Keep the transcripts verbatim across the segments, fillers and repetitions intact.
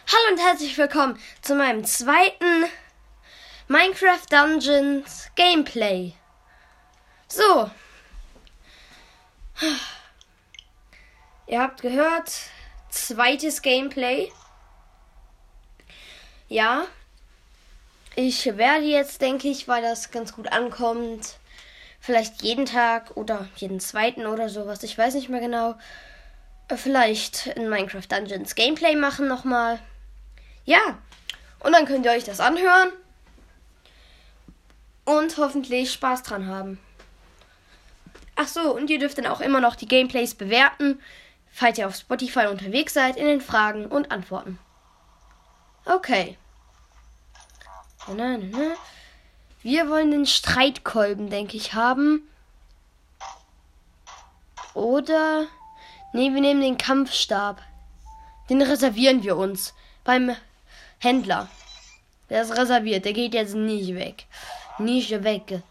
Hallo und herzlich willkommen zu meinem zweiten Minecraft Dungeons Gameplay. So. Ihr habt gehört, zweites Gameplay. Ja. Ich werde jetzt, denke ich, weil das ganz gut ankommt, vielleicht jeden Tag oder jeden zweiten oder sowas, ich weiß nicht mehr genau, vielleicht in Minecraft Dungeons Gameplay machen nochmal. Ja, und dann könnt ihr euch das anhören und hoffentlich Spaß dran haben. Ach so, und ihr dürft dann auch immer noch die Gameplays bewerten, falls ihr auf Spotify unterwegs seid, in den Fragen und Antworten. Okay. Na, na, na. Wir wollen den Streitkolben, denke ich, haben. Oder, nee, wir nehmen den Kampfstab. Den reservieren wir uns beim Händler. Der ist reserviert, der geht jetzt nicht weg. Nicht weg.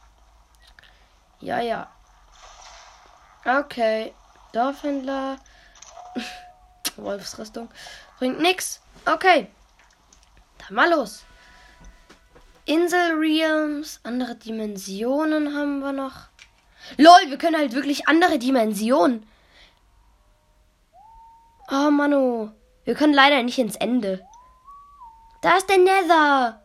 Ja, ja. Okay. Dorfhändler. Wolfsrüstung. Bringt nix. Okay. Dann mal los. Inselrealms. Andere Dimensionen haben wir noch. Lol, wir können halt wirklich andere Dimensionen. Oh, Manu. Wir können leider nicht ins Ende. Da ist der Nether.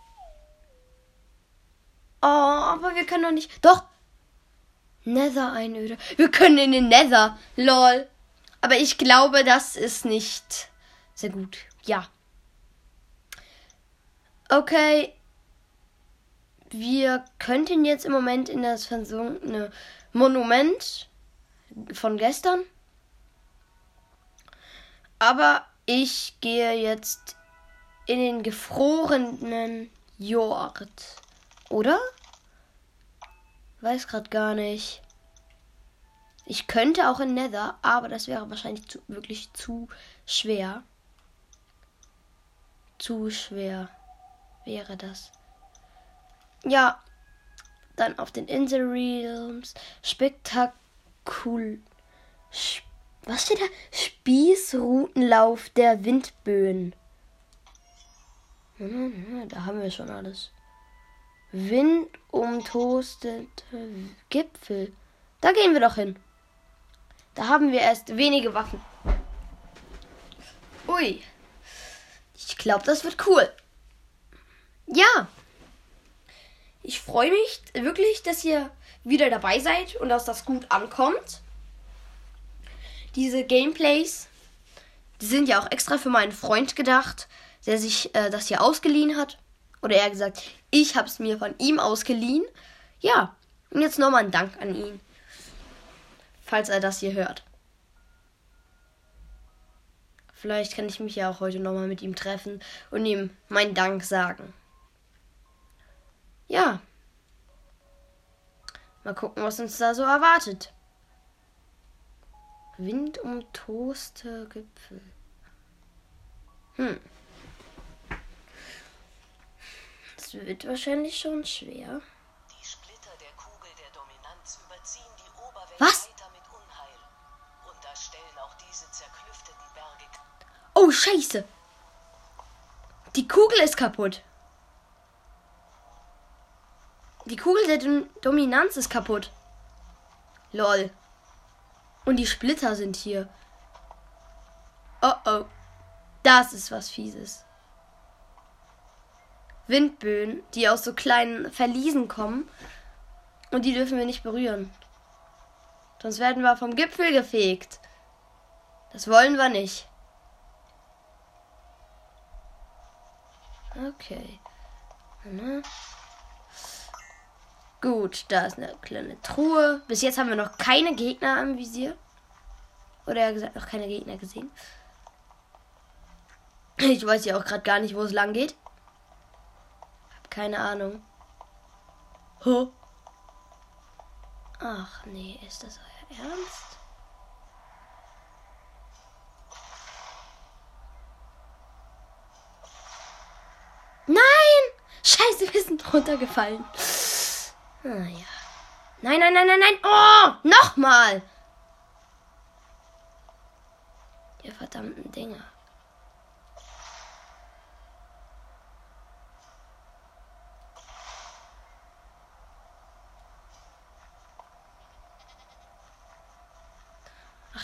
Oh, aber wir können doch nicht... Doch. Nether-Einöde. Wir können in den Nether. Lol. Aber ich glaube, das ist nicht sehr gut. Ja. Okay. Wir könnten jetzt im Moment in das versunkene Monument von gestern. Aber ich gehe jetzt in den gefrorenen Jord. Oder? Weiß gerade gar nicht. Ich könnte auch in Nether, aber das wäre wahrscheinlich zu, wirklich zu schwer. Zu schwer wäre das. Ja, dann auf den Inselrealms. Spektakul... Was steht da? Spießrutenlauf der Windböen. Da haben wir schon alles. Windumtoastete Gipfel. Da gehen wir doch hin. Da haben wir erst wenige Waffen. Ui. Ich glaube, das wird cool. Ja. Ich freue mich wirklich, dass ihr wieder dabei seid und dass das gut ankommt. Diese Gameplays, die sind ja auch extra für meinen Freund gedacht, der sich äh, das hier ausgeliehen hat. Oder eher gesagt, ich habe es mir von ihm ausgeliehen. Ja, und jetzt nochmal ein Dank an ihn, falls er das hier hört. Vielleicht kann ich mich ja auch heute nochmal mit ihm treffen und ihm meinen Dank sagen. Ja. Mal gucken, was uns da so erwartet. Windumtoste Gipfel. Hm. Das wird wahrscheinlich schon schwer. Die Splitter der Kugel der Dominanz überziehen die Oberwelt Was? weiter mit Unheil. Und da stellen auch diese zerklüfteten Berge. Oh, Scheiße. Die Kugel ist kaputt. Die Kugel der Dom- Dominanz ist kaputt. Lol. Und die Splitter sind hier. Oh oh. Das ist was Fieses. Windböen, die aus so kleinen Verliesen kommen. Und die dürfen wir nicht berühren. Sonst werden wir vom Gipfel gefegt. Das wollen wir nicht. Okay. Na. Gut, da ist eine kleine Truhe. Bis jetzt haben wir noch keine Gegner am Visier. Oder eher gesagt, noch keine Gegner gesehen. Ich weiß ja auch gerade gar nicht, wo es lang geht. Hab keine Ahnung. Huh? Ach nee, ist das euer Ernst? Nein! Scheiße, wir sind runtergefallen. Ah ja. Nein, nein, nein, nein, nein. Oh, nochmal. Ihr verdammten Dinger.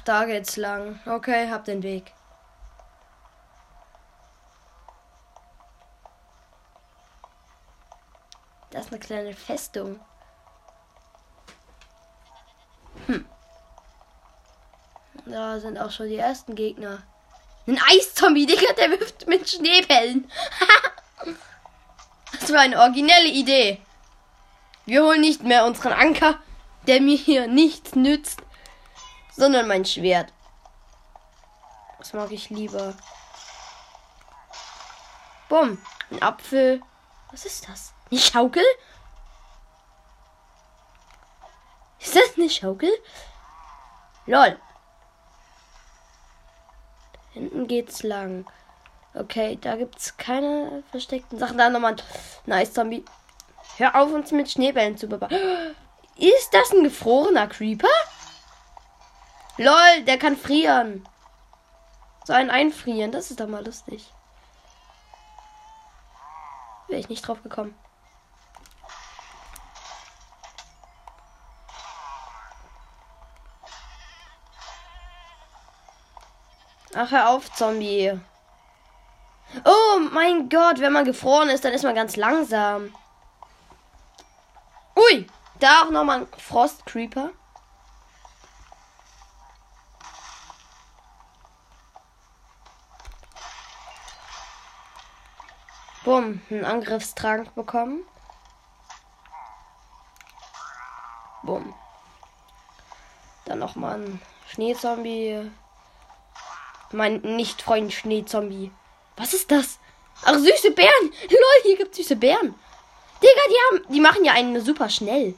da geht's lang. Okay, hab den Weg. Das ist eine kleine Festung. Hm. Da sind auch schon die ersten Gegner. Ein Eiszombie, Digga, der wirft mit Schneebällen. Das war eine originelle Idee. Wir holen nicht mehr unseren Anker, der mir hier nichts nützt, sondern mein Schwert. Das mag ich lieber. Bumm, ein Apfel. Was ist das? Eine Schaukel? Ist das eine Schaukel? Lol. Hinten geht's lang. Okay, da gibt's keine versteckten Sachen. Da nochmal ein nice Zombie. Hör auf, uns mit Schneebällen zu bebauen. Ist das ein gefrorener Creeper? Lol, der kann frieren. So ein Einfrieren, das ist doch mal lustig. Wäre ich nicht drauf gekommen. Ach, hör auf, Zombie. Oh mein Gott, wenn man gefroren ist, dann ist man ganz langsam. Ui, da auch nochmal ein Frost-Creeper. Bumm, einen Angriffstrank bekommen. Bumm. Dann nochmal ein Schneezombie. Mein Nicht-Freund Schneezombie. Was ist das? Ach, süße Bären. Lol, hier gibt's süße Bären. Digga, die haben, die machen ja einen super schnell.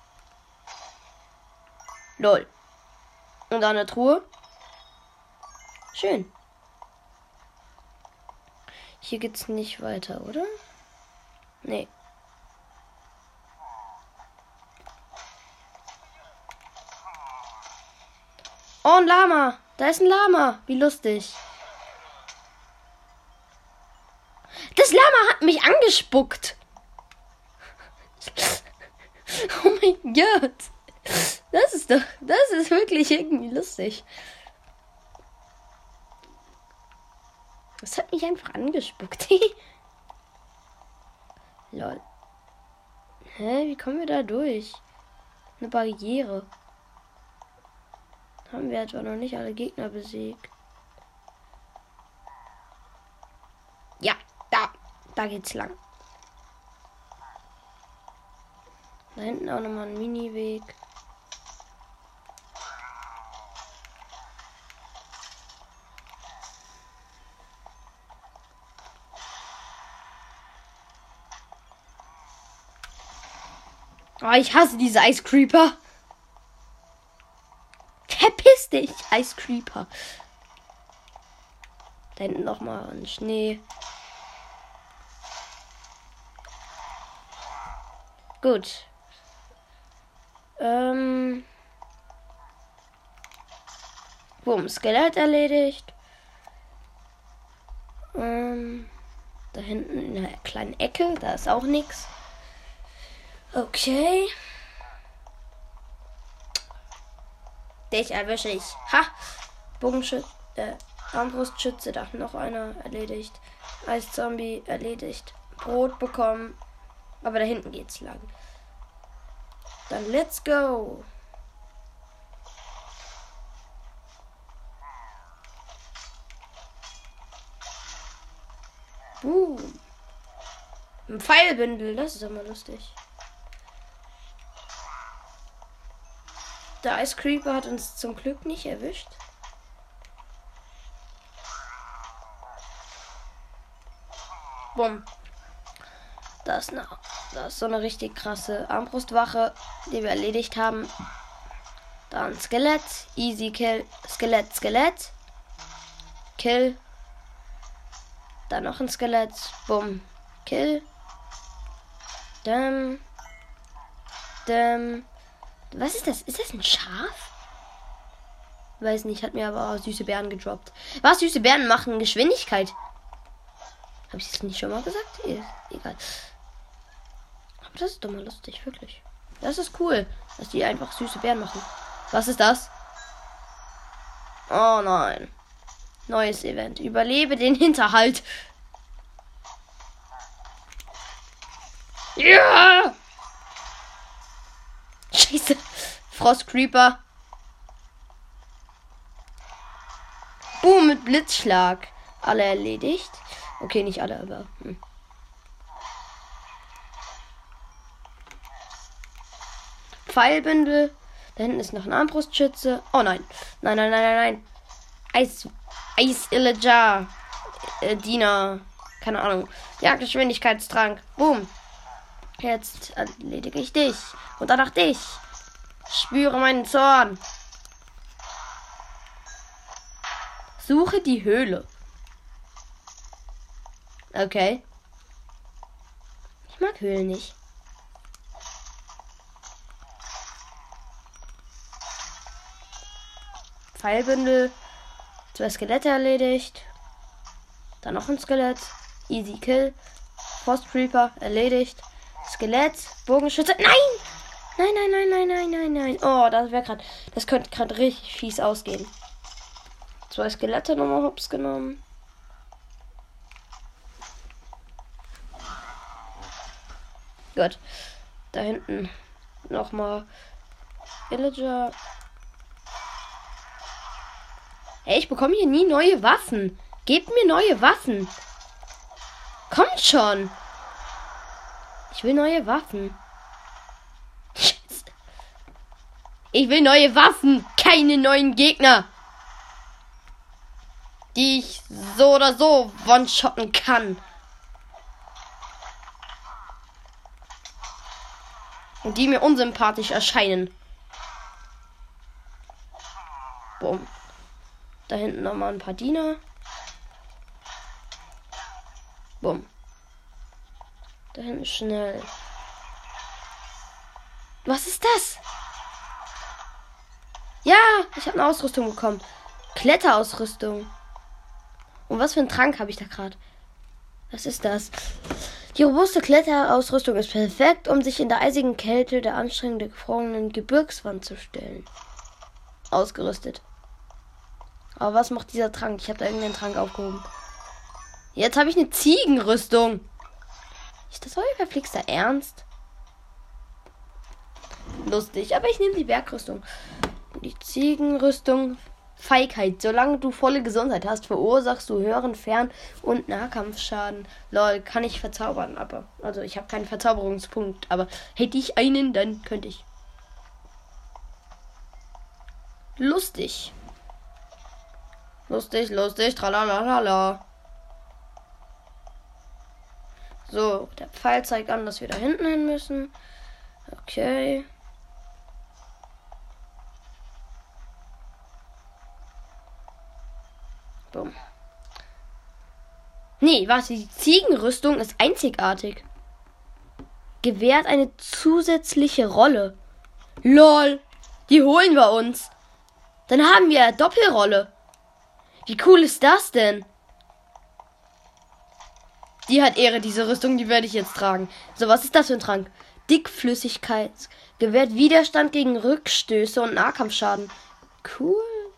Lol. Und da eine Truhe. Schön. Hier geht's nicht weiter, oder? Nee. Oh, ein Lama. Da ist ein Lama. Wie lustig. Das Lama hat mich angespuckt. Oh mein Gott. Das ist doch, das ist wirklich irgendwie lustig. Das hat mich einfach angespuckt. Lol. Hä, wie kommen wir da durch? Eine Barriere. Haben wir etwa noch nicht alle Gegner besiegt? Ja, da. Da geht's lang. Da hinten auch nochmal ein Mini-Weg. Oh, ich hasse diese Ice Creeper. Verpiss dich, Ice Creeper. Da hinten nochmal ein Schnee. Gut. Ähm. Bumm, Skelett erledigt. Ähm. Da hinten in einer kleinen Ecke, da ist auch nichts. Okay. Dich erwische ich. Ha! Bogenschütze, äh, Armbrustschütze, da noch einer erledigt. Eiszombie erledigt. Brot bekommen. Aber da hinten geht's lang. Dann let's go. Boom. Ein Pfeilbündel, das ist immer lustig. Der Ice Creeper hat uns zum Glück nicht erwischt. Bumm. Da ist, eine, da ist so eine richtig krasse Armbrustwache, die wir erledigt haben. Da ein Skelett. Easy Kill. Skelett, Skelett. Kill. Da noch ein Skelett. Bumm. Kill. Däm. Däm. Was ist das? Ist das ein Schaf? Weiß nicht, hat mir aber süße Bären gedroppt. Was? Süße Bären machen Geschwindigkeit. Habe ich das nicht schon mal gesagt? E egal. Aber das ist doch mal lustig, wirklich. Das ist cool, dass die einfach süße Bären machen. Was ist das? Oh nein. Neues Event. Überlebe den Hinterhalt. Ja! Scheiße. Frost Creeper. Boom, mit Blitzschlag. Alle erledigt. Okay, nicht alle, aber... Hm. Pfeilbündel. Da hinten ist noch ein Armbrustschütze. Oh nein. Nein, nein, nein, nein, nein. Eis... Eis Illager. Äh, Diener. Keine Ahnung. Jagdgeschwindigkeitstrank. Boom. Jetzt erledige ich dich. Und danach dich. Spüre meinen Zorn. Suche die Höhle. Okay. Ich mag Höhlen nicht. Pfeilbündel. Zwei Skelette erledigt. Dann noch ein Skelett. Easy Kill. Frost Creeper erledigt. Skelett. Bogenschütze. Nein! Nein, nein, nein, nein, nein, nein, nein. Oh, das wäre gerade. Das könnte gerade richtig fies ausgehen. Zwei Skelette nochmal hops genommen. Gut. Da hinten nochmal Villager. Ey, ich bekomme hier nie neue Waffen. Gebt mir neue Waffen. Kommt schon. Ich will neue Waffen. Ich will neue Waffen. Keine neuen Gegner. Die ich so oder so one-shotten kann. Und die mir unsympathisch erscheinen. Boom. Da hinten nochmal ein paar Diener. Bumm. Da hinten schnell. Was ist das? Ja, ich habe eine Ausrüstung bekommen. Kletterausrüstung. Und was für ein Trank habe ich da gerade? Was ist das? Die robuste Kletterausrüstung ist perfekt, um sich in der eisigen Kälte der anstrengenden gefrorenen Gebirgswand zu stellen. Ausgerüstet. Aber was macht dieser Trank? Ich habe da irgendeinen Trank aufgehoben. Jetzt habe ich eine Ziegenrüstung. Ist das euer verflixter Ernst? Lustig, aber ich nehme die Bergrüstung. Die Ziegenrüstung. Feigheit. Solange du volle Gesundheit hast, verursachst du höheren Fern- und Nahkampfschaden. Lol, kann ich verzaubern, aber... Also, ich habe keinen Verzauberungspunkt, aber hätte ich einen, dann könnte ich. Lustig. Lustig, lustig, tralalala. So, der Pfeil zeigt an, dass wir da hinten hin müssen. Okay. Boom. Nee, was? Die Ziegenrüstung ist einzigartig. Gewährt eine zusätzliche Rolle. Lol. Die holen wir uns. Dann haben wir eine Doppelrolle. Wie cool ist das denn? Die hat Ehre, diese Rüstung, die werde ich jetzt tragen. So, was ist das für ein Trank? Dickflüssigkeit. Gewährt Widerstand gegen Rückstöße und Nahkampfschaden. Cool.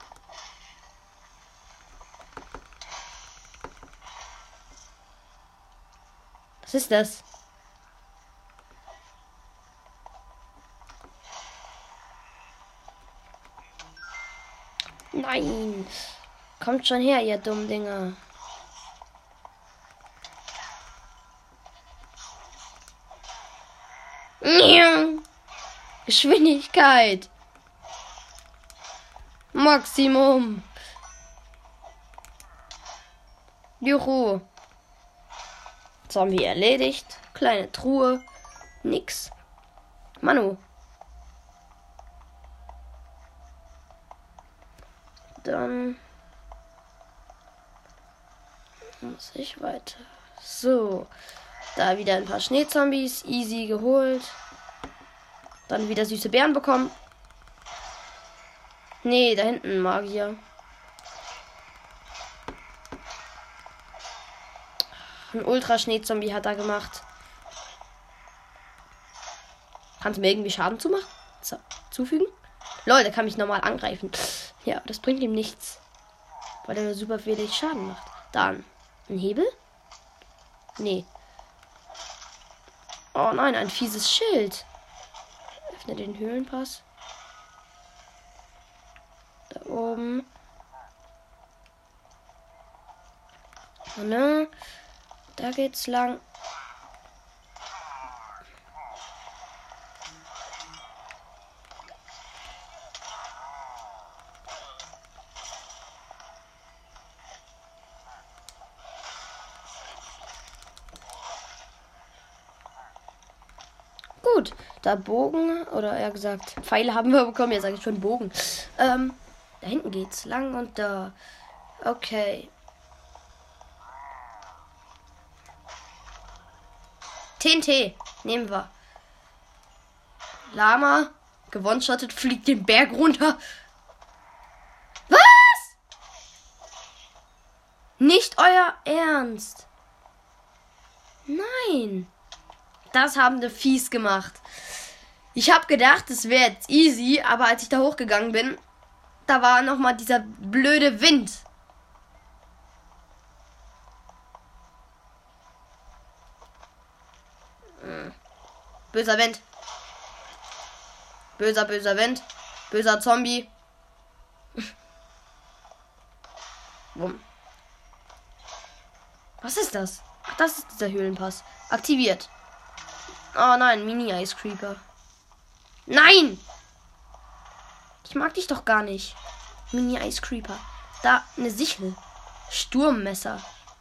Was ist das? Nein. Kommt schon her, ihr dummen Dinger. Geschwindigkeit. Maximum. Juhu. Zombie erledigt. Kleine Truhe. Nix. Manu. Dann muss ich weiter. So. Da wieder ein paar Schneezombies. Easy geholt. Dann wieder süße Beeren bekommen. Nee, da hinten ein Magier. Ein Ultra-Schneezombie hat er gemacht. Kannst du mir irgendwie Schaden zumachen? So, zufügen? Lol, der kann mich normal angreifen. Ja, das bringt ihm nichts. weil der super wenig Schaden macht. Dann ein Hebel? Nee. Oh nein, ein fieses Schild. Öffne den Höhlenpass. Da oben. Oh, ne? Da geht's lang. Gut, da Bogen, oder eher gesagt, Pfeile haben wir bekommen, jetzt sage ich schon Bogen. Ähm, da hinten geht's lang und da. Okay. T N T, nehmen wir. Lama, gewonshottet, fliegt den Berg runter. Was? Nicht euer Ernst. Nein. Das haben die fies gemacht. Ich habe gedacht, es wäre jetzt easy, aber als ich da hochgegangen bin, da war nochmal dieser blöde Wind. Hm. Böser Wind. Böser, böser Wind. Böser Zombie. Wumm. Was ist das? Ach, das ist dieser Höhlenpass. Aktiviert. Oh nein, Mini-Ice Creeper. Nein! Ich mag dich doch gar nicht. Mini-Ice Creeper. Da, eine Sichel. Sturmmesser.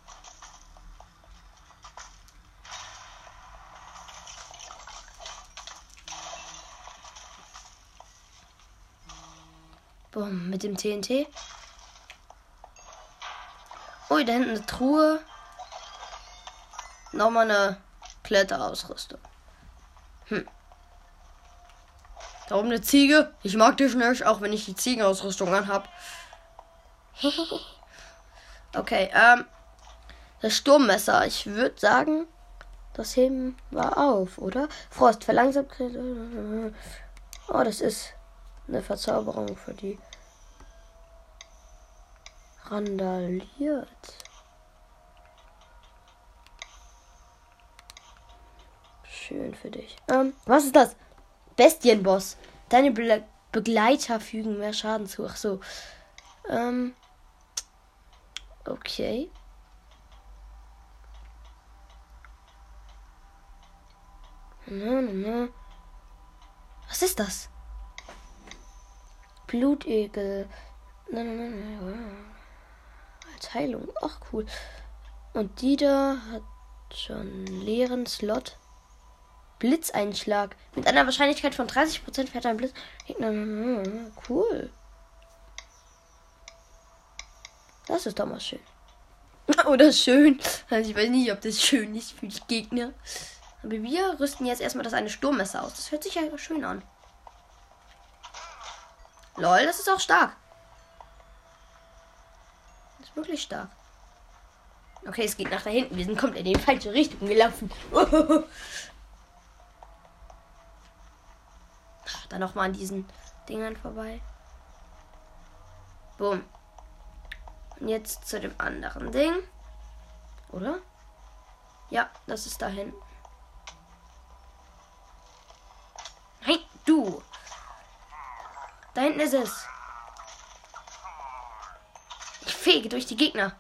Boom, mit dem T N T. Ui, da hinten eine Truhe. Nochmal eine Kletterausrüstung. Hm. Da oben eine Ziege. Ich mag dich nicht, auch wenn ich die Ziegenausrüstung anhab. Okay, ähm. Das Sturmmesser. Ich würde sagen, das heben wir auf, oder? Frost verlangsamt. Oh, das ist eine Verzauberung für die. Randaliert. Schön für dich. Ähm, was ist das? Bestienboss. Deine Be Begleiter fügen mehr Schaden zu. Ach so. Ähm. Okay. Was ist das? Blutegel. Als Heilung. Ach, cool. Und die da hat schon einen leeren Slot. Blitzeinschlag. Mit einer Wahrscheinlichkeit von dreißig Prozent fährt ein Blitz. Cool. Das ist doch mal schön. Oder schön. Also ich weiß nicht, ob das schön ist für die Gegner. Aber wir rüsten jetzt erstmal das eine Sturmmesser aus. Das hört sich ja schön an. Lol, das ist auch stark. Das ist wirklich stark. Okay, es geht nach da hinten. Wir sind komplett in die falsche Richtung gelaufen. Dann nochmal an diesen Dingern vorbei. Boom. Und jetzt zu dem anderen Ding. Oder? Ja, das ist da hinten. Nein, du. Da hinten ist es. Ich fege durch die Gegner.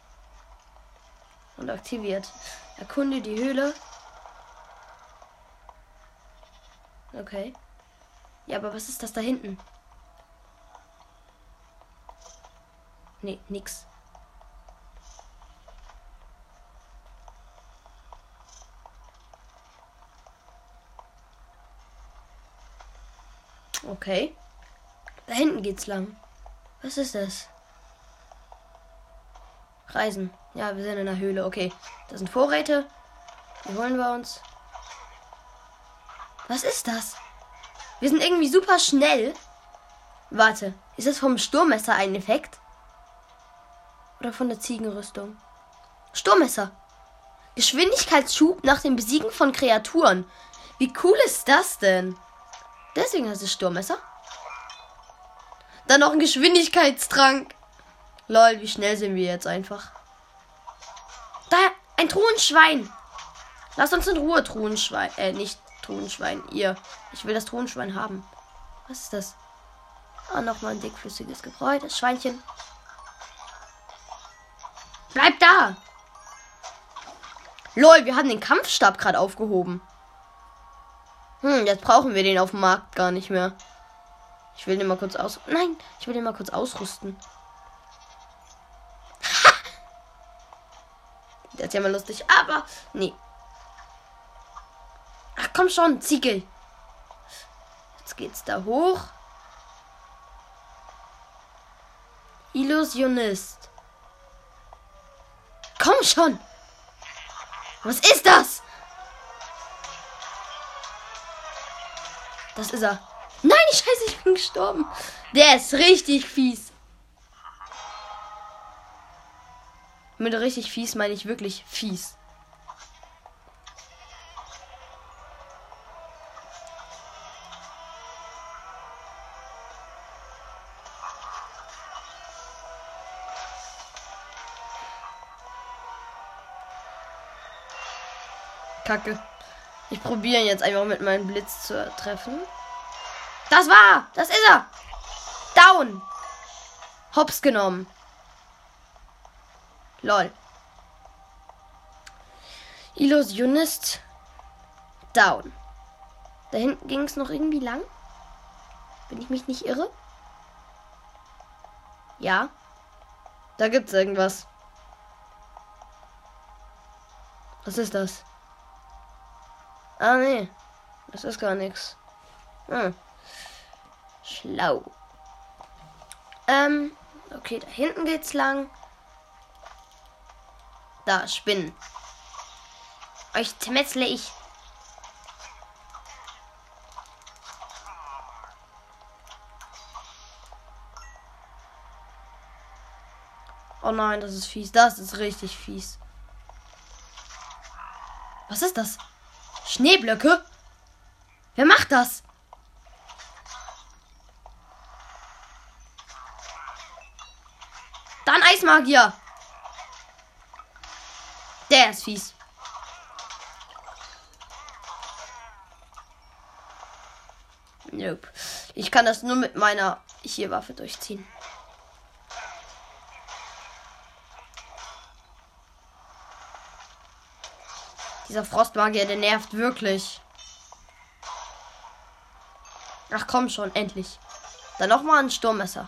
Und aktiviert. Erkunde die Höhle. Okay. Ja, aber was ist das da hinten? Nee, nix. Okay. Da hinten geht's lang. Was ist das? Reisen. Ja, wir sind in der Höhle. Okay. Das sind Vorräte. Die holen wir uns. Was ist das? Wir sind irgendwie super schnell. Warte. Ist das vom Sturmmesser ein Effekt? Oder von der Ziegenrüstung? Sturmmesser. Geschwindigkeitsschub nach dem Besiegen von Kreaturen. Wie cool ist das denn? Deswegen heißt es Sturmmesser. Dann noch ein Geschwindigkeitstrank. Lol, wie schnell sind wir jetzt einfach. Da, ein Truhenschwein. Lasst uns in Ruhe, Truhenschwein. Äh, nicht Truhenschwein. Ihr. Ich will das Truhenschwein haben. Was ist das? Ah, nochmal ein dickflüssiges Gebräu. Das Schweinchen. Bleib da! Lol, wir haben den Kampfstab gerade aufgehoben. Hm, jetzt brauchen wir den auf dem Markt gar nicht mehr. Ich will den mal kurz aus... Nein, ich will den mal kurz ausrüsten. Das ist ja mal lustig, aber... Nee. Ach, komm schon, Ziegel. Jetzt geht's da hoch. Illusionist. Komm schon. Was ist das? Das ist er. Nein, scheiße, ich bin gestorben. Der ist richtig fies. Mit richtig fies meine ich wirklich fies. Kacke. Ich probiere jetzt einfach mit meinem Blitz zu treffen. Das war! Das ist er! Down! Hops genommen. Lol. Illusionist. Down. Da hinten ging es noch irgendwie lang. Wenn ich mich nicht irre. Ja. Da gibt's irgendwas. Was ist das? Ah, nee. Das ist gar nichts. Hm. Schlau. Ähm, okay, da hinten geht's lang. Da, Spinnen. Euch zermetzle ich. Oh nein, das ist fies. Das ist richtig fies. Was ist das? Schneeblöcke? Wer macht das? Dann Eismagier. Der ist fies. Nope. Ich kann das nur mit meiner hier Waffe durchziehen. Dieser Frostmagier, der nervt wirklich. Ach komm schon, endlich. Dann nochmal ein Sturmmesser.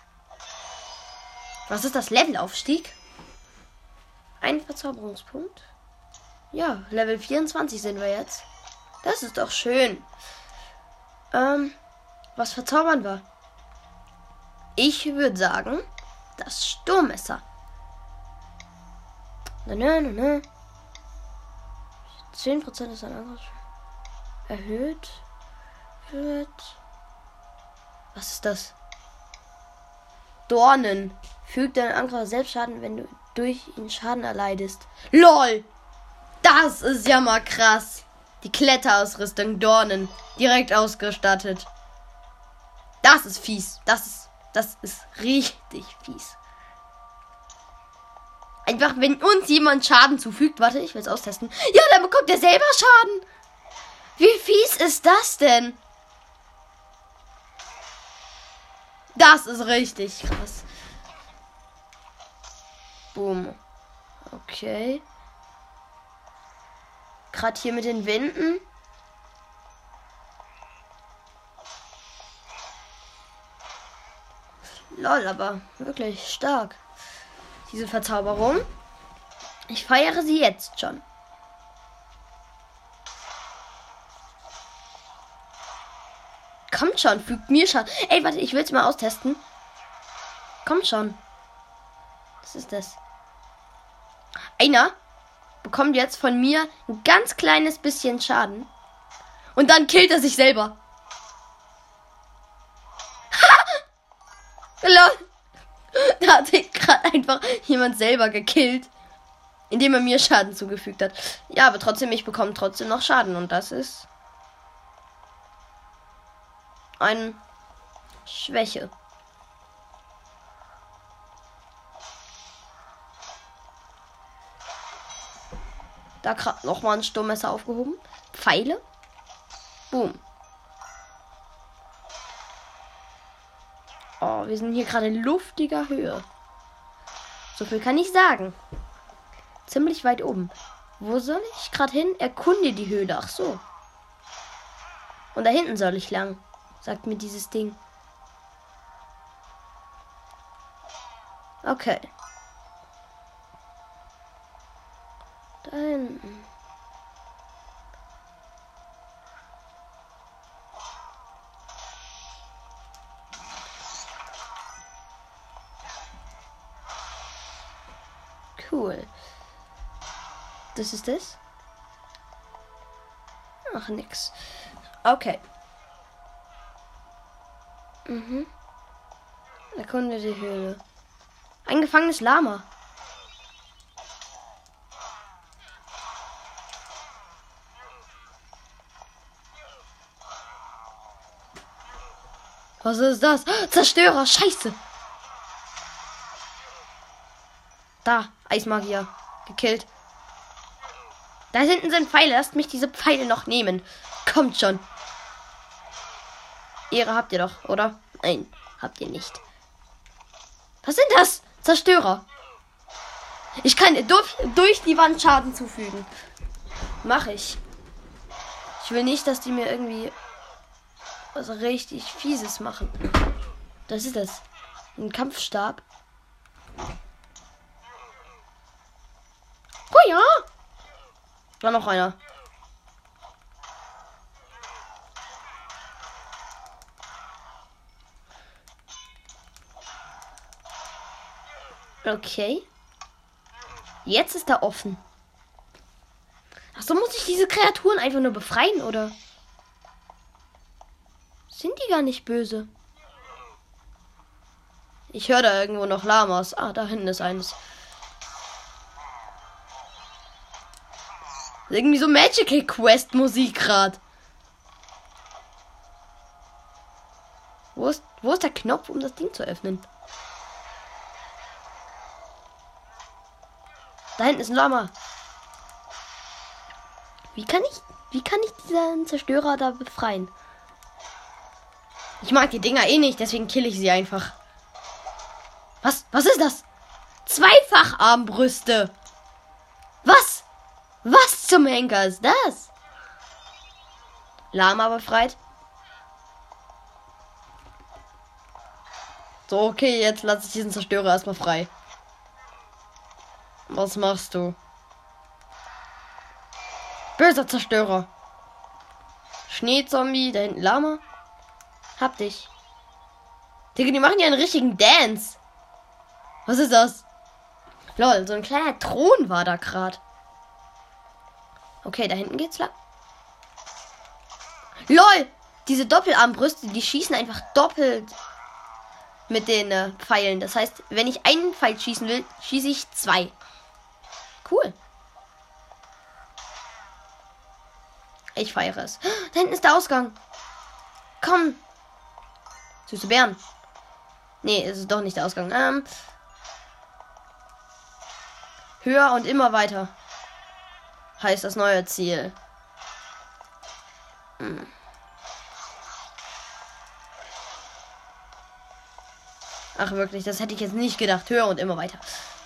Was ist das? Levelaufstieg? Ein Verzauberungspunkt. Ja, Level vierundzwanzig sind wir jetzt. Das ist doch schön. Ähm, was verzaubern wir? Ich würde sagen, das Sturmmesser. Na, na, na, na. zehn Prozent ist ein Angriff. Erhöht wird. Was ist das? Dornen. Fügt deinen Angreifer selbst Schaden, wenn du durch ihn Schaden erleidest. LOL! Das ist ja mal krass. Die Kletterausrüstung Dornen. Direkt ausgestattet. Das ist fies. Das ist, das ist richtig fies. Einfach, wenn uns jemand Schaden zufügt. Warte, ich will es austesten. Ja, dann bekommt er selber Schaden. Wie fies ist das denn? Das ist richtig krass. Boom. Okay. Gerade hier mit den Wänden. Lol, aber wirklich stark. Diese Verzauberung. Ich feiere sie jetzt schon. Kommt schon, fügt mir Schaden. Ey, warte, ich will es mal austesten. Kommt schon. Was ist das? Einer bekommt jetzt von mir ein ganz kleines bisschen Schaden. Und dann killt er sich selber. Da hat sich gerade einfach jemand selber gekillt. Indem er mir Schaden zugefügt hat. Ja, aber trotzdem, ich bekomme trotzdem noch Schaden. Und das ist eine Schwäche. Da gerade nochmal ein Sturmmesser aufgehoben. Pfeile. Boom. Oh, wir sind hier gerade in luftiger Höhe. So viel kann ich sagen. Ziemlich weit oben. Wo soll ich gerade hin? Erkunde die Höhle. Ach so. Und da hinten soll ich lang. Sagt mir dieses Ding. Okay. Da hinten. Cool. Das ist das? Ach, nix. Okay. Mhm. Erkunde die Höhle. Ein gefangenes Lama. Was ist das? Zerstörer, scheiße. Da, Eismagier. Gekillt. Da hinten sind Pfeile. Lasst mich diese Pfeile noch nehmen. Kommt schon. Ehre habt ihr doch, oder? Nein, habt ihr nicht. Was sind das? Zerstörer. Ich kann durch, durch die Wand Schaden zufügen. Mach ich. Ich will nicht, dass die mir irgendwie was richtig Fieses machen. Das ist das. Ein Kampfstab. Oh ja. War noch einer. Okay. Jetzt ist er offen. Achso, muss ich diese Kreaturen einfach nur befreien, oder? Sind die gar nicht böse? Ich höre da irgendwo noch Lamas. Ah, da hinten ist eines. Irgendwie so Magical Quest Musik gerade. Wo ist, wo ist der Knopf, um das Ding zu öffnen? Da hinten ist ein Lama. Wie kann ich, wie kann ich diesen Zerstörer da befreien? Ich mag die Dinger eh nicht, deswegen kill ich sie einfach. Was? Was ist das? Zweifacharmbrüste. Was? Was zum Henker ist das? Lama befreit. So, okay, jetzt lasse ich diesen Zerstörer erstmal frei. Was machst du? Böser Zerstörer. Schneezombie, da hinten Lama. Hab dich. Digga, die machen ja einen richtigen Dance. Was ist das? Lol, so ein kleiner Thron war da gerade. Okay, da hinten geht's lang. Lol, diese Doppelarmbrüste, die schießen einfach doppelt mit den äh, Pfeilen. Das heißt, wenn ich einen Pfeil schießen will, schieße ich zwei. Cool. Ich feiere es. Da hinten ist der Ausgang. Komm. Süße Bären. Nee, es ist doch nicht der Ausgang. Ähm, höher und immer weiter. Heißt das neue Ziel. Hm. Ach wirklich, das hätte ich jetzt nicht gedacht. Höher und immer weiter.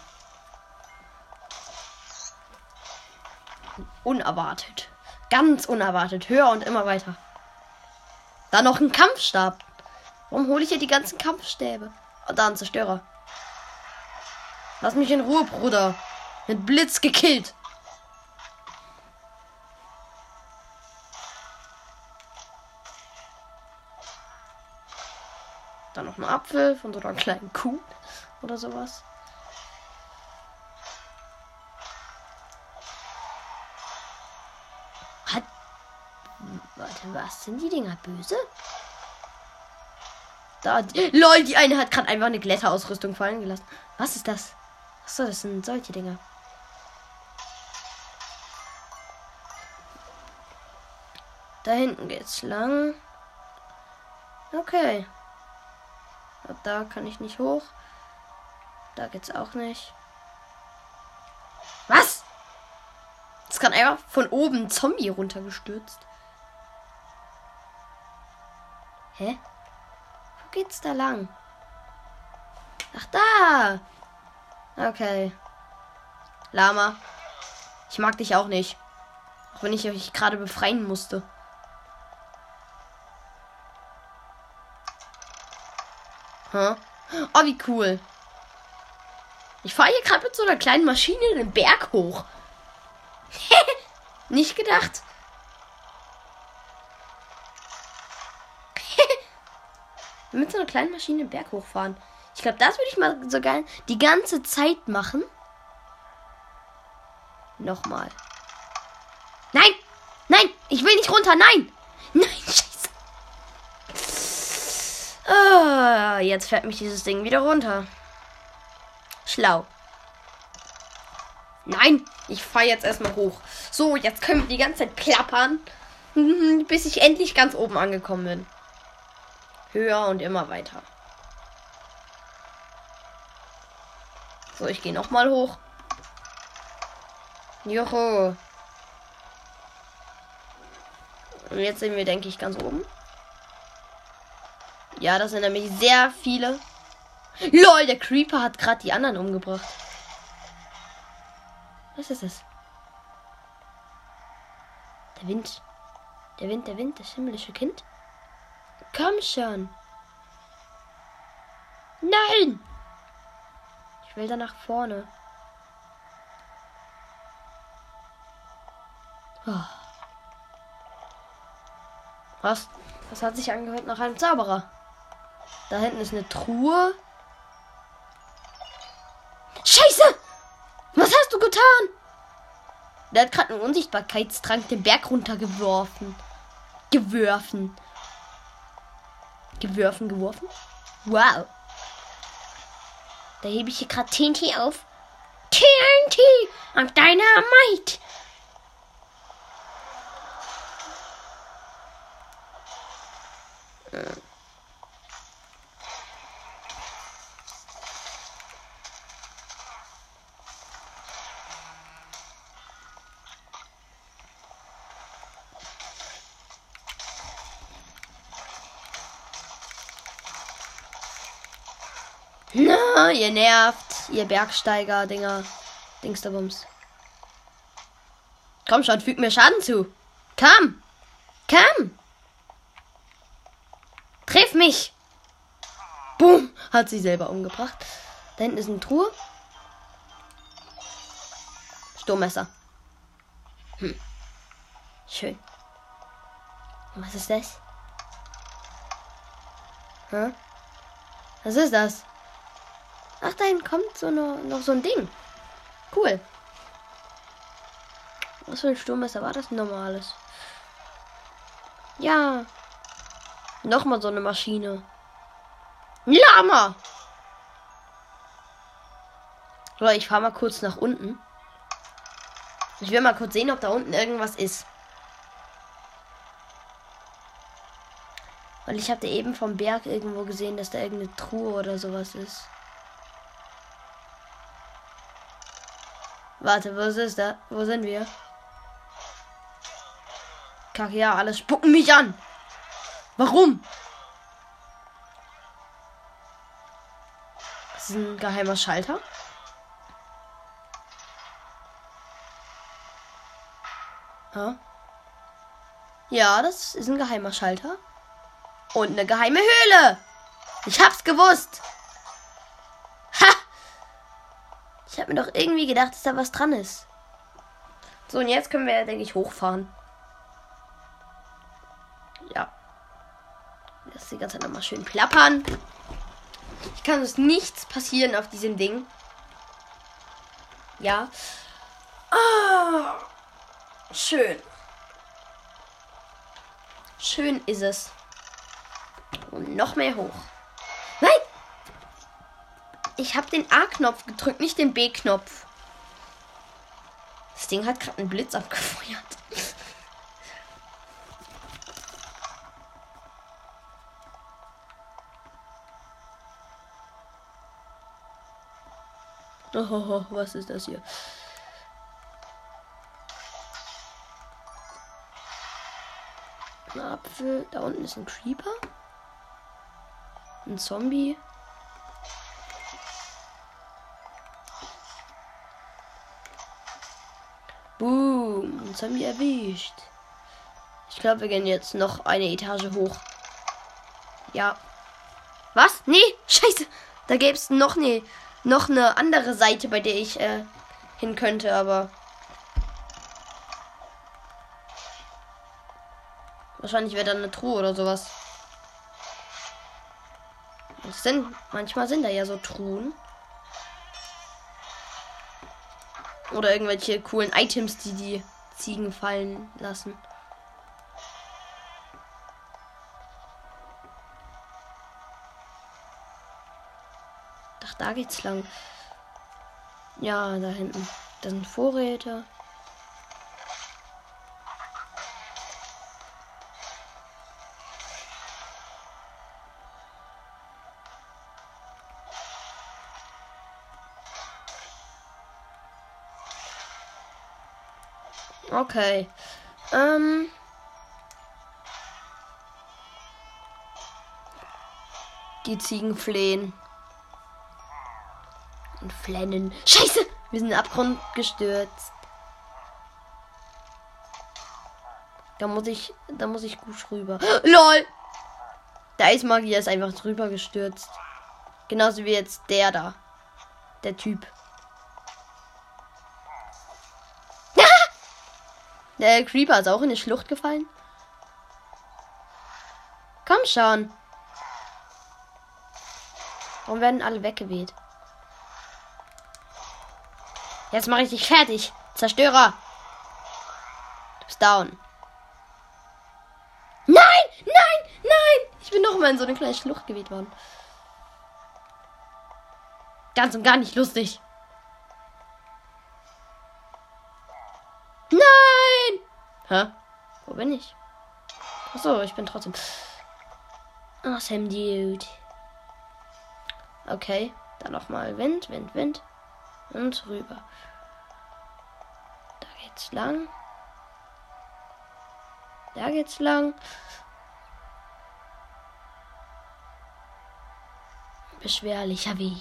Unerwartet. Ganz unerwartet. Höher und immer weiter. Da noch ein Kampfstab. Warum hole ich hier die ganzen Kampfstäbe? Und da ein Zerstörer. Lass mich in Ruhe, Bruder. Mit Blitz gekillt. Da noch ein Apfel von so einer kleinen Kuh oder sowas. Hat. Warte, was? Sind die Dinger böse? Da. Lol, die eine hat gerade einfach eine Glätterausrüstung fallen gelassen. Was ist das? Achso, das sind solche Dinger. Da hinten geht's lang. Okay. Und da kann ich nicht hoch. Da geht's auch nicht. Was? Es kann einfach von oben ein Zombie runtergestürzt. Hä? Wo geht's da lang? Ach, da! Okay. Lama. Ich mag dich auch nicht. Auch wenn ich euch gerade befreien musste. Huh? Oh, wie cool. Ich fahre hier gerade mit so einer kleinen Maschine den Berg hoch. Nicht gedacht. Mit so einer kleinen Maschine den Berg hochfahren. Ich glaube, das würde ich mal sogar die ganze Zeit machen. Nochmal. Nein! Nein! Ich will nicht runter! Nein! Nein, scheiße! Oh, jetzt fährt mich dieses Ding wieder runter. Schlau. Nein! Ich fahre jetzt erstmal hoch. So, jetzt können wir die ganze Zeit klappern, bis ich endlich ganz oben angekommen bin. Höher und immer weiter. So, ich gehe nochmal hoch. Joho. Und jetzt sind wir, denke ich, ganz oben. Ja, das sind nämlich sehr viele. LOL, der Creeper hat gerade die anderen umgebracht. Was ist das? Der Wind. Der Wind, der Wind, das himmlische Kind. Komm schon. Nein! Ich will da nach vorne. Oh. Was? Das hat sich angehört nach einem Zauberer. Da hinten ist eine Truhe. Scheiße! Was hast du getan? Der hat gerade einen Unsichtbarkeitstrank den Berg runtergeworfen. Geworfen. Geworfen, geworfen? Wow. Da hebe ich hier gerade T N T auf. T N T und Dynamite. Hm. Na, ihr nervt, ihr Bergsteiger-Dinger. Dingsterbums. Komm schon, füg mir Schaden zu. Komm. Komm. Triff mich. Boom. Hat sie selber umgebracht. Da hinten ist eine Truhe. Sturmmesser. Hm. Schön. Und was ist das? Hä? Was ist das? Ach, dahin kommt so noch, noch so ein Ding. Cool. Was für ein Sturmmesser war das? Ein normales. Ja. Nochmal so eine Maschine. Ein Lama. So, ich fahre mal kurz nach unten. Ich will mal kurz sehen, ob da unten irgendwas ist. Weil ich hatte eben vom Berg irgendwo gesehen, dass da irgendeine Truhe oder sowas ist. Warte, was ist da? Wo sind wir? Kacke, ja, alles spucken mich an. Warum? Das ist ein geheimer Schalter. Ja. Ja, das ist ein geheimer Schalter. Und eine geheime Höhle. Ich hab's gewusst. Ha! Ich hab mir doch irgendwie gedacht, dass da was dran ist. So, und jetzt können wir, denke ich, hochfahren. Ja. Lass die ganze Zeit nochmal schön plappern. Ich kann uns nichts passieren auf diesem Ding. Ja. Ah, schön. Schön ist es. Und noch mehr hoch. Nein! Ich habe den A-Knopf gedrückt, nicht den B-Knopf. Das Ding hat gerade einen Blitz abgefeuert. Oh, was ist das hier? Ein Apfel. Da unten ist ein Creeper. Ein Zombie. Boom. Ein Zombie erwischt. Ich glaube, wir gehen jetzt noch eine Etage hoch. Ja. Was? Nee, scheiße. Da gäbe es noch eine, noch eine andere Seite, bei der ich äh, hin könnte, aber... Wahrscheinlich wäre da eine Truhe oder sowas. Das sind, manchmal sind da ja so Truhen. Oder irgendwelche coolen Items, die die Ziegen fallen lassen. Ach, da geht's lang. Ja, da hinten. Da sind Vorräte. Okay. Ähm. Die Ziegen flehen. Und flennen. Scheiße! Wir sind in den Abgrund gestürzt. Da muss ich. Da muss ich gut rüber. LOL! Der Eismagier ist einfach drüber gestürzt. Genauso wie jetzt der da. Der Typ. Der Creeper ist auch in die Schlucht gefallen. Komm schon. Warum werden alle weggeweht? Jetzt mache ich dich fertig. Zerstörer. Du bist down. Nein! Nein! Nein! Ich bin noch mal in so eine kleine Schlucht geweht worden. Ganz und gar nicht lustig. Nein! Hä? Wo bin ich? Achso, ich bin trotzdem. Awesome, dude. Okay, dann nochmal Wind, Wind, Wind. Und rüber. Da geht's lang. Da geht's lang. Beschwerlicher Weg.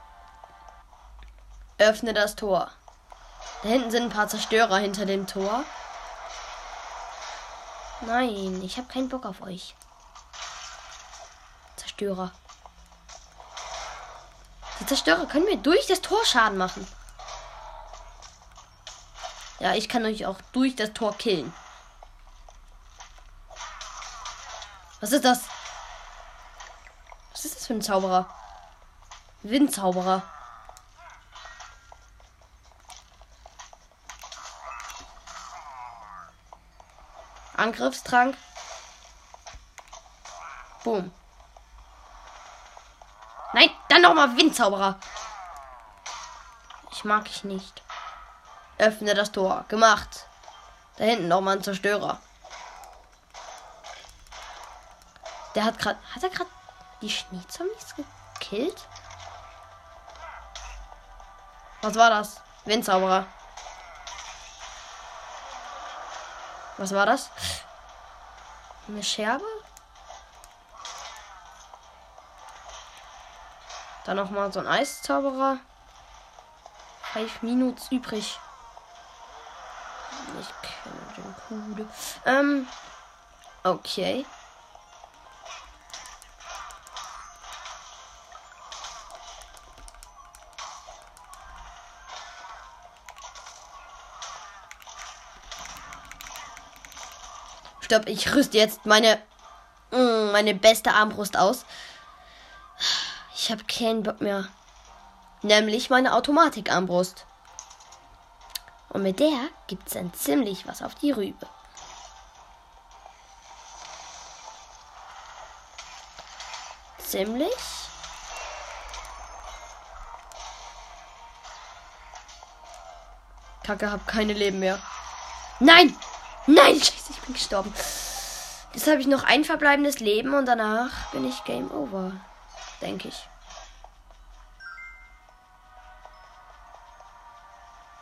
Öffne das Tor. Da hinten sind ein paar Zerstörer hinter dem Tor. Nein, ich habe keinen Bock auf euch. Zerstörer. Die Zerstörer können mir durch das Tor Schaden machen. Ja, ich kann euch auch durch das Tor killen. Was ist das? Was ist das für ein Zauberer? Windzauberer. Angriffstrank. Boom. Nein, dann nochmal Windzauberer. Ich mag ich nicht. Öffne das Tor. Gemacht. Da hinten nochmal ein Zerstörer. Der hat gerade... Hat er gerade die Schneezombies gekillt? Was war das? Windzauberer. Was war das? Eine Scherbe? Dann noch mal so ein Eiszauberer. Fünf Minuten übrig. Ich kenne den Kude. Ähm. Okay. Stopp, ich rüste jetzt meine meine beste Armbrust aus. Ich habe keinen Bock mehr. Nämlich meine Automatikarmbrust. Und mit der gibt's dann ziemlich was auf die Rübe. Ziemlich. Kacke, hab keine Leben mehr. Nein! Nein, scheiße, ich bin gestorben. Jetzt habe ich noch ein verbleibendes Leben und danach bin ich Game Over. Denke ich.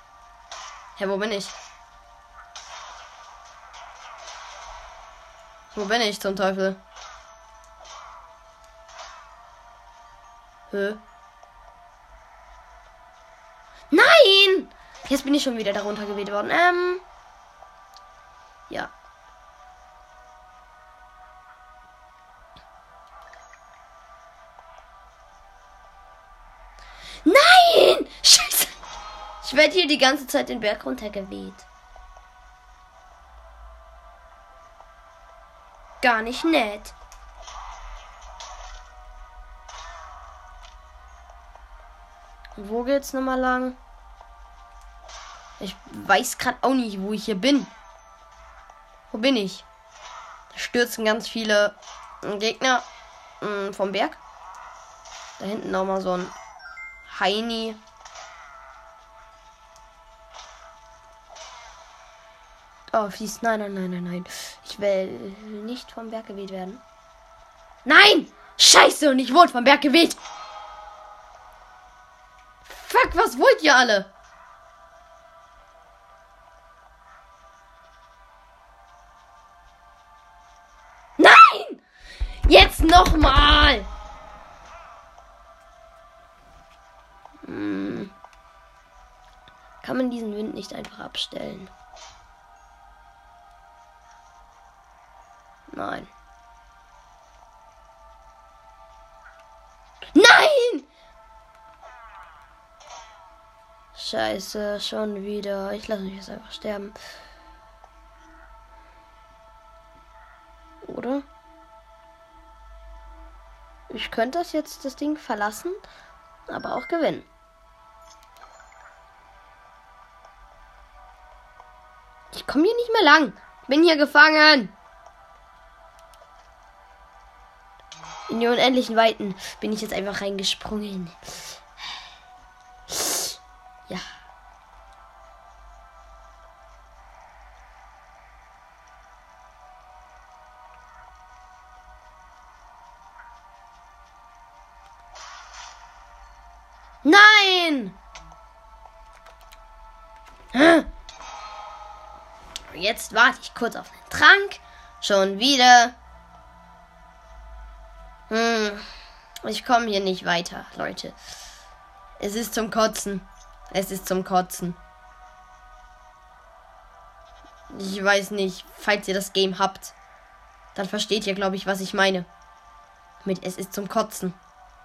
Hä, wo bin ich? Wo bin ich zum Teufel? Hä? Nein! Jetzt bin ich schon wieder darunter geweht worden. Ähm. Ja. Nein! Scheiße! Ich werde hier die ganze Zeit den Berg runtergeweht. Gar nicht nett. Und wo geht's nochmal lang? Ich weiß gerade auch nicht, wo ich hier bin. Wo bin ich? Da stürzen ganz viele Gegner mh, vom Berg. Da hinten nochmal so ein Heini. Oh, fließt. Nein, nein, nein, nein, nein. Ich will nicht vom Berg geweht werden. Nein! Scheiße! Und ich wurde vom Berg geweht! Fuck, was wollt ihr alle? Nein! Jetzt nochmal! Hm. Kann man diesen Wind nicht einfach abstellen? Nein. Nein! Scheiße, schon wieder. Ich lasse mich jetzt einfach sterben. Oder? Ich könnte das jetzt, das Ding verlassen, aber auch gewinnen. Ich komme hier nicht mehr lang. Bin hier gefangen. In die unendlichen Weiten bin ich jetzt einfach reingesprungen. Ja. Nein! Jetzt warte ich kurz auf den Trank. Schon wieder. Hm. Ich komme hier nicht weiter, Leute. Es ist zum Kotzen. Es ist zum Kotzen. Ich weiß nicht, falls ihr das Game habt, dann versteht ihr, glaube ich, was ich meine. Mit es ist zum Kotzen.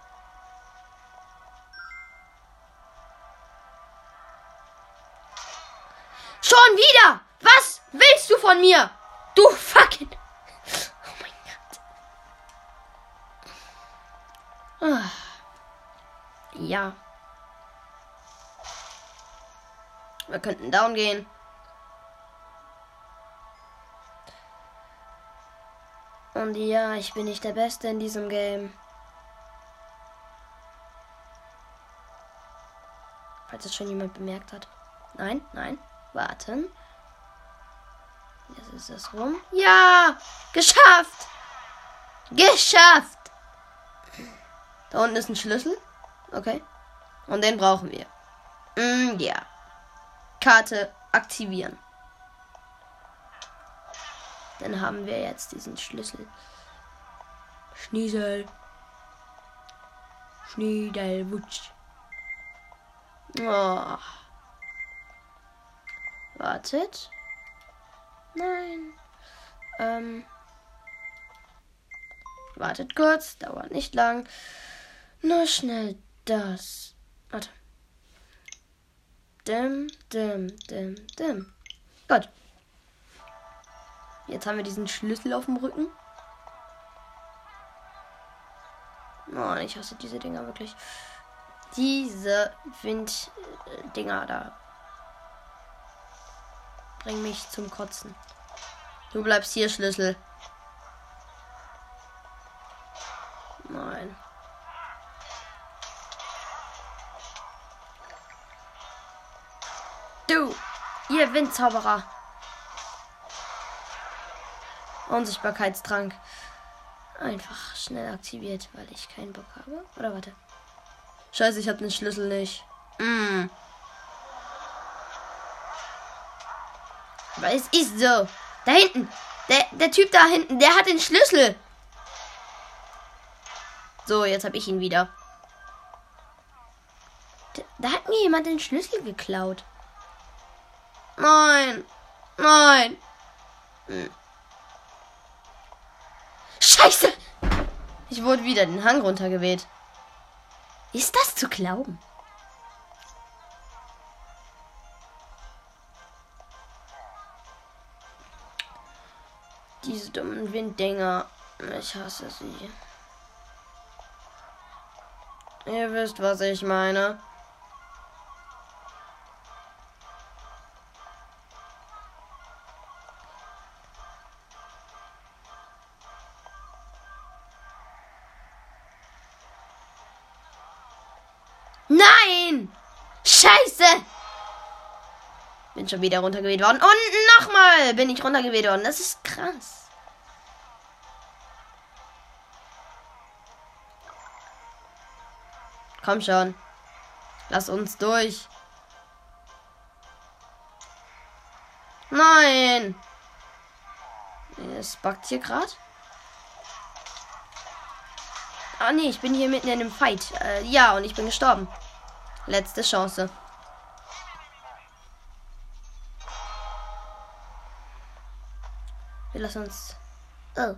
Schon wieder! Was willst du von mir? Du fucking... Oh mein Gott. Ah. Ja. Wir könnten down gehen. Und ja, ich bin nicht der Beste in diesem Game. Falls es schon jemand bemerkt hat. Nein, nein. Warten. Jetzt ist es rum. Ja! Geschafft! Geschafft! Da unten ist ein Schlüssel. Okay. Und den brauchen wir. Mm, ja. Karte aktivieren. Dann haben wir jetzt diesen Schlüssel. Schniesel. Schniedelwutsch. Oh. Wartet. Nein. Ähm. Wartet kurz. Dauert nicht lang. Nur schnell das. Warte. Dim, dim, dim, dim. Gut. Jetzt haben wir diesen Schlüssel auf dem Rücken. Oh, ich hasse diese Dinger wirklich. Diese Winddinger da. Bring mich zum Kotzen. Du bleibst hier, Schlüssel. Nein. Du, ihr Windzauberer. Unsichtbarkeitstrank. Einfach schnell aktiviert, weil ich keinen Bock habe. Oder warte. Scheiße, ich habe den Schlüssel nicht. Mm. Aber es ist so. Da hinten. Der, der Typ da hinten, der hat den Schlüssel. So, jetzt habe ich ihn wieder. Da, da hat mir jemand den Schlüssel geklaut. Nein. Nein. Hm. Scheiße. Ich wurde wieder den Hang runtergeweht. Ist das zu glauben? Diese dummen Winddinger. Ich hasse sie. Ihr wisst, was ich meine. Nein! Scheiße! Bin schon wieder runtergeweht worden. Und nochmal bin ich runtergeweht worden. Das ist krass. Komm schon. Lass uns durch. Nein! Es buggt hier gerade. Ah nee, ich bin hier mitten in einem Fight. Äh, ja, und ich bin gestorben. Letzte Chance. Wir lassen uns... Oh.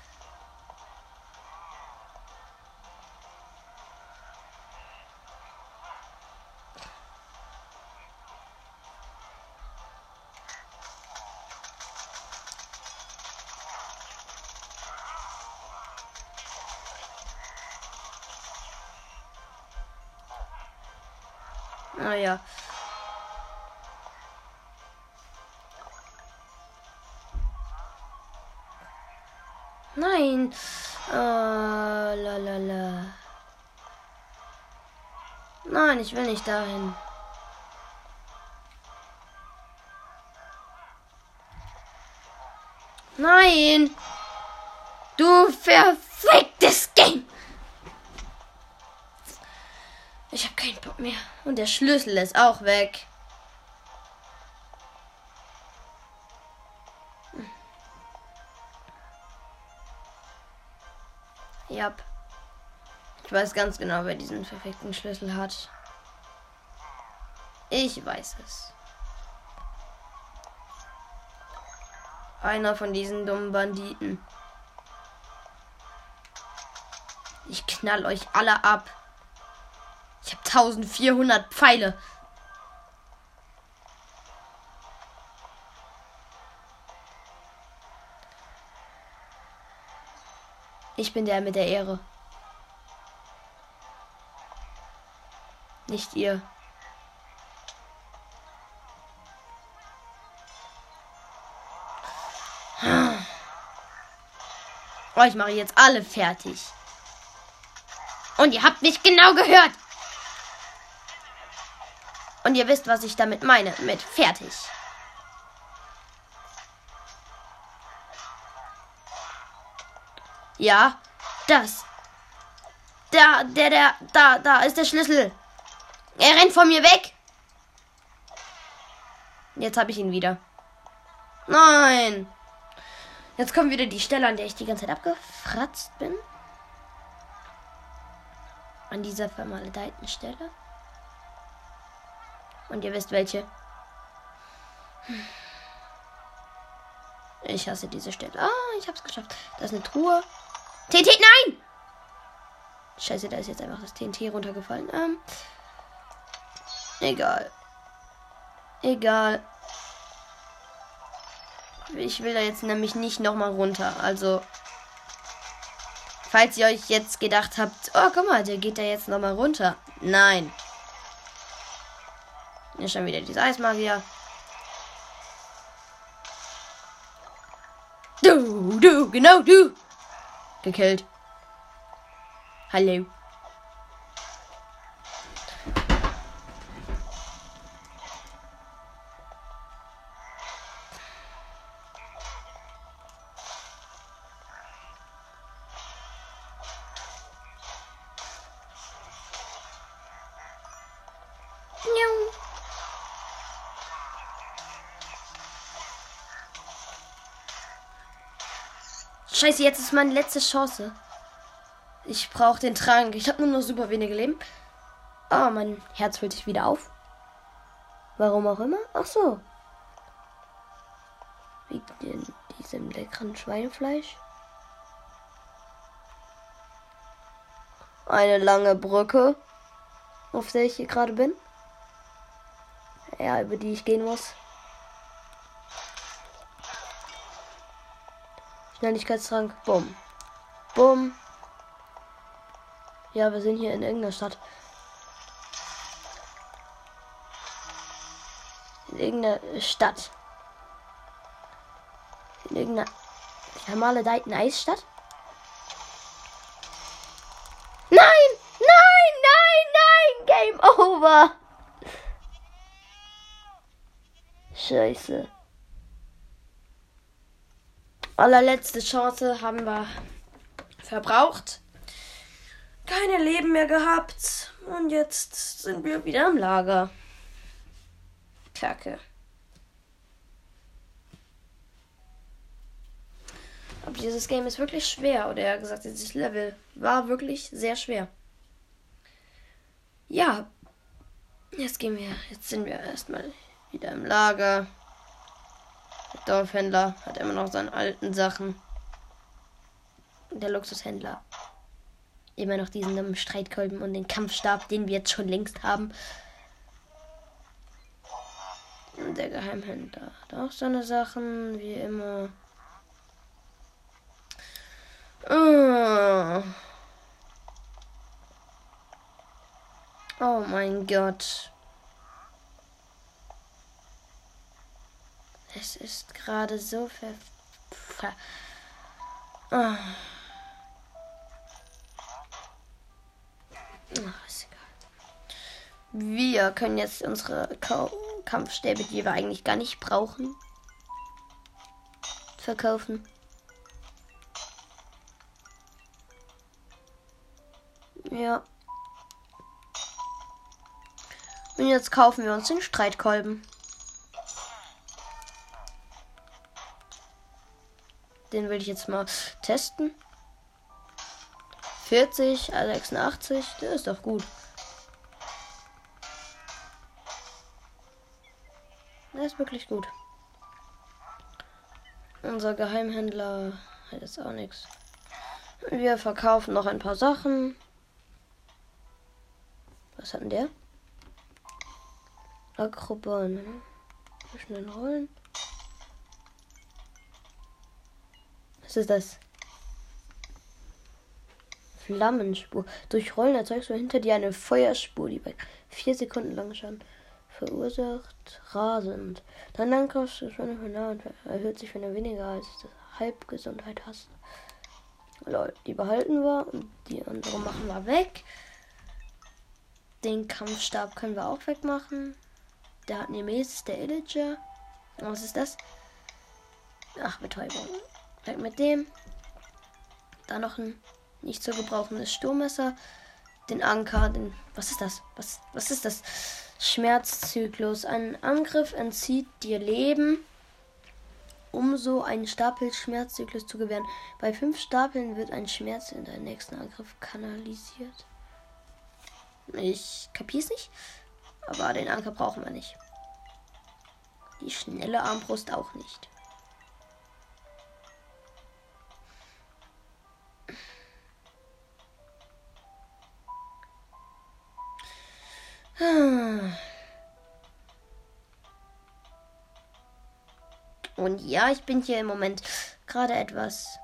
Naja. Nein. Oh, la, la, la. Nein, ich will nicht dahin. Nein. Du verficktes Game. Ich habe keinen Bock mehr. Und der Schlüssel ist auch weg. Ja. Ich weiß ganz genau, wer diesen verfickten Schlüssel hat. Ich weiß es. Einer von diesen dummen Banditen. Ich knall euch alle ab. Ich habe eintausendvierhundert Pfeile. Ich bin der mit der Ehre. Nicht ihr. Oh, ich mache jetzt alle fertig. Und ihr habt mich genau gehört. Und ihr wisst, was ich damit meine, mit fertig. Ja, das. Da, der, der, da, da ist der Schlüssel. Er rennt von mir weg. Jetzt habe ich ihn wieder. Nein. Jetzt kommt wieder die Stelle, an der ich die ganze Zeit abgefratzt bin. An dieser vermaledeiten Stelle. Und ihr wisst welche. Ich hasse diese Stelle. Ah, ich hab's geschafft. Da ist eine Truhe. T N T, nein! Scheiße, da ist jetzt einfach das T N T runtergefallen. Ähm, egal. Egal. Ich will da jetzt nämlich nicht nochmal runter. Also, falls ihr euch jetzt gedacht habt, oh, guck mal, der geht da jetzt nochmal runter. Nein. Hier ist schon wieder dieser Eismagier. Du, du, genau du. Gekillt. Hallo. Scheiße, jetzt ist meine letzte Chance. Ich brauche den Trank. Ich habe nur noch super wenige Leben. Ah, mein Herz füllt sich wieder auf. Warum auch immer. Ach so. Wegen diesem leckeren Schweinefleisch. Eine lange Brücke, auf der ich hier gerade bin. Ja, über die ich gehen muss. Schnelligkeitstrank. Bumm. Bumm. Ja, wir sind hier in irgendeiner Stadt. In irgendeiner Stadt. In irgendeiner vermaledeiten Eisstadt. Nein! Nein! Nein! Nein! Game over! Scheiße. Allerletzte Chance haben wir verbraucht. Keine Leben mehr gehabt. Und jetzt sind wir wieder im Lager. Kacke. Aber dieses Game ist wirklich schwer. Oder eher gesagt, dieses Level war wirklich sehr schwer. Ja. Jetzt gehen wir. Jetzt sind wir erstmal wieder im Lager. Der Dorfhändler hat immer noch seine alten Sachen. Der Luxushändler. Immer noch diesen dummen Streitkolben und den Kampfstab, den wir jetzt schon längst haben. Und der Geheimhändler hat auch seine Sachen, wie immer. Oh, oh mein Gott. Es ist gerade so ver... ver oh. Ach, ist egal. Wir können jetzt unsere Ka- Kampfstäbe, die wir eigentlich gar nicht brauchen, verkaufen. Ja. Und jetzt kaufen wir uns den Streitkolben. Den will ich jetzt mal testen. vierzig, sechsundachtzig, der ist doch gut. Der ist wirklich gut. Unser Geheimhändler hat jetzt auch nichts. Wir verkaufen noch ein paar Sachen. Was hat denn der? Akroban, ne? Zwischen den Rollen. Was ist das? Flammenspur. Durch Rollen erzeugst du hinter dir eine Feuerspur, die bei vier Sekunden lang Schaden verursacht. Rasend. Dein Angriff erhöht sich, wenn du weniger als Halbgesundheit hast. Lol, die behalten wir und die andere machen wir weg. Den Kampfstab können wir auch wegmachen. Der hat Nemesis, der Illager. Was ist das? Ach, Betäubung. Weg mit dem. Da noch ein nicht zu gebrauchendes Sturmmesser. Den Anker, den. Was ist das? Was, was ist das? Schmerzzyklus. Ein Angriff entzieht dir Leben, um so einen Stapel Schmerzzyklus zu gewähren. Bei fünf Stapeln wird ein Schmerz in deinen nächsten Angriff kanalisiert. Ich kapier's nicht. Aber den Anker brauchen wir nicht. Die schnelle Armbrust auch nicht. Und ja, ich bin hier im Moment gerade etwas,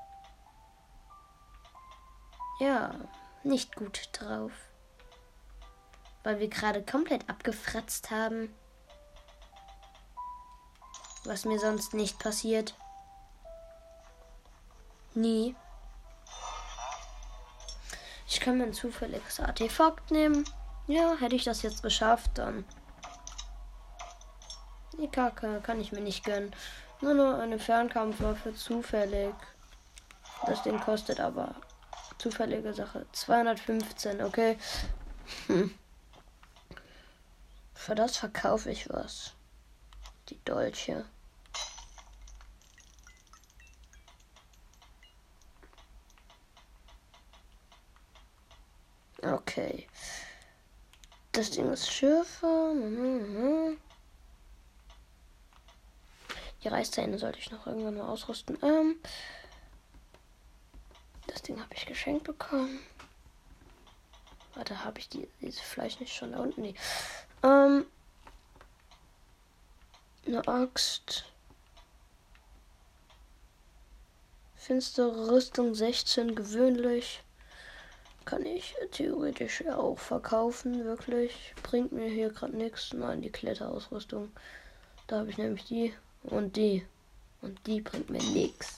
ja, nicht gut drauf. Weil wir gerade komplett abgefratzt haben. Was mir sonst nicht passiert. Nie. Ich kann mir ein zufälliges Artefakt nehmen. Ja, hätte ich das jetzt geschafft, dann. Die Kacke kann ich mir nicht gönnen. Nur nur eine Fernkampfwaffe, zufällig. Das Ding kostet aber, zufällige Sache, zweihundertfünfzehn, okay. Hm. Für das verkaufe ich was. Die Dolche. Okay. Das Ding ist Schürfer. Die Reißzähne sollte ich noch irgendwann mal ausrüsten. Ähm, das Ding habe ich geschenkt bekommen. Warte, habe ich die, dieses Fleisch nicht schon da unten? Nee. Ähm, eine Axt. Finstere Rüstung sechzehn gewöhnlich. Kann ich theoretisch auch verkaufen, wirklich. Bringt mir hier gerade nichts. Nein, die Kletterausrüstung. Da habe ich nämlich die und die. Und die bringt mir nichts.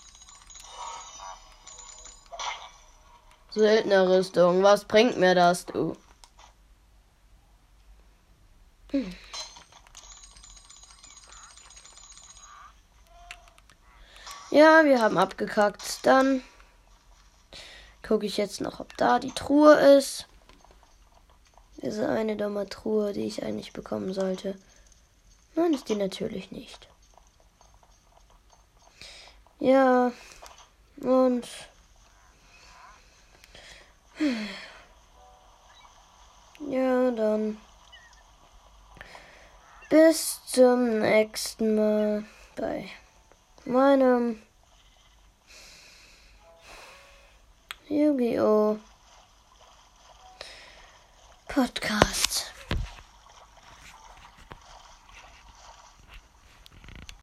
Seltene Rüstung, was bringt mir das, du? Hm. Ja, wir haben abgekackt. Dann gucke ich jetzt noch, ob da die Truhe ist. Diese eine dumme Truhe, die ich eigentlich bekommen sollte. Nein, ist die natürlich nicht. Ja, und ja, dann bis zum nächsten Mal bei meinem Yu-Gi-Oh! Podcast.